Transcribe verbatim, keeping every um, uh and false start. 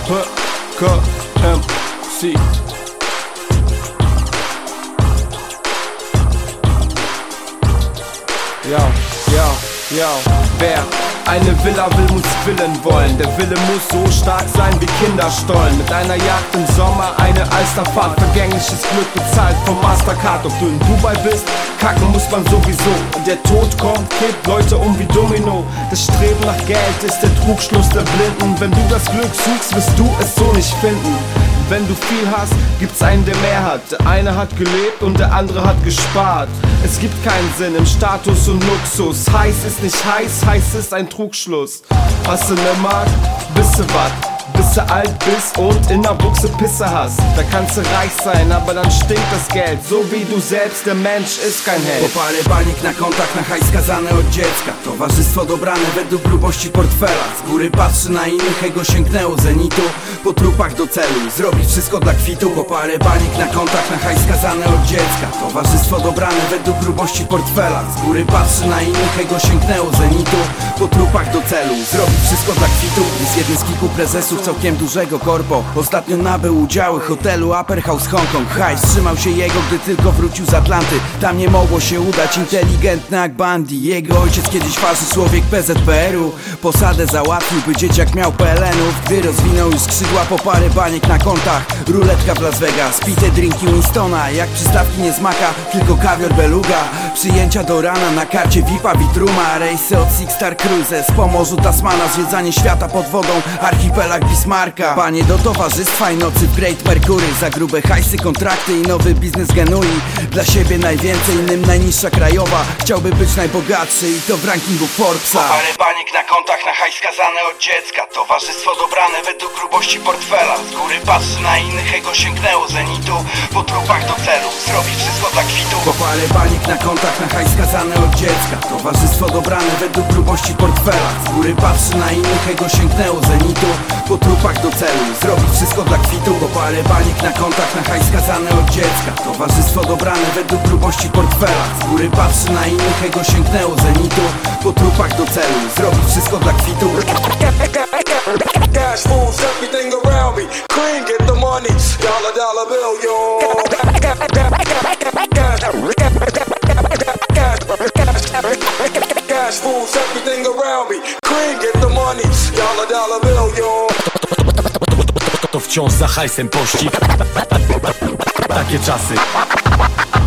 P K M C. Yo, yo, yo, wer eine Villa will, muss Willen wollen. Der Wille muss so stark sein wie Kinderstollen. Mit einer Jagd im Sommer, eine Alsterfahrt, vergängliches Glück bezahlt vom Mastercard. Ob du in Dubai bist, kacken muss man sowieso. Und der Tod kommt, kippt Leute um wie Domino. Das Streben nach Geld ist der Trugschluss der Blinden. Wenn du das Glück suchst, wirst du es so nicht finden. Wenn du viel hast, gibt's einen, der mehr hat. Der eine hat gelebt und der andere hat gespart. Es gibt keinen Sinn im Status und Luxus. Heiß ist nicht heiß, heiß ist ein Trugschluss. Hast du ne Mark, bist du wat? Bis du alt bist und in der Buchse Pisse hast. Da kannst du reich sein, aber dann stinkt das Geld. So wie du selbst, der Mensch ist kein Held. Popale banik na kontach, na hajs skazane od dziecka. Towarzystwo dobrane według grubości portfela. Z góry patrzy na innych, ego sięgnęło zenitu. Po trupach do celu, zrobić wszystko dla kwitu. Popale banik na kontach, na hajs skazane od dziecka. Towarzystwo dobrane według grubości portfela. Z góry patrzy na innych, ego sięgnęło zenitu. Po trupach do celu, zrobić wszystko dla kwitu. Jest jeden z kilku prezesów całkiem dużego korpo. Ostatnio nabył udziały hotelu Upper House Hongkong. Hajs trzymał się jego, gdy tylko wrócił z Atlanty. Tam nie mogło się udać, inteligentny jak Bundy. Jego ojciec kiedyś farzy człowiek P Z P R u. Posadę załatwił, by dzieciak miał P L N ów. Gdy rozwinął już skrzydła, po parę baniek na kontach. Ruletka w Las Vegas, pite drinki Winstona. Jak przystawki nie zmaka, tylko kawior beluga. Przyjęcia do rana na karcie V I P-a Vitruma. Rejsy od Six Star Cruises po morzu Tasmana. Zwiedzanie świata pod wodą, archipelag Bismarcka. Panie do towarzystwa i nocy w Great Mercury. Za grube hajsy, kontrakty i nowy biznes genui. Dla siebie najwięcej, innym najniższa krajowa. Chciałby być najbogatszy i to w rankingu Forbesa. Po parę baniek na kontach, na hajs skazane od dziecka. Towarzystwo dobrane według grubości portfela. Z góry patrzy na innych, ego sięgnęło zenitu. Po trupach do celu, zrobić wszystko dla kwitu. Po parę baniek na kontach, na hajs skazane od dziecka. Towarzystwo dobrane według grubości portfela. Z góry patrzy na innych, ego sięgnęło zenitu. Po trupach do celu, zrobić wszystko dla kwitu. Po parę baniek na kontach, na hajs skazane od dziecka. Towarzystwo dobrane według grubości portfela. Z góry patrzy na innych, ego sięgnęło zenitu. Po trupach do celu, zrobić wszystko dla kwitu. Cash moves everything around me. Cream, get the money. Dollar, dollar bill, yo. Cash moves everything around me. Cream, get the money. Dollar, dollar bill, yo. To wciąż za hajsem pościg. Takie czasy.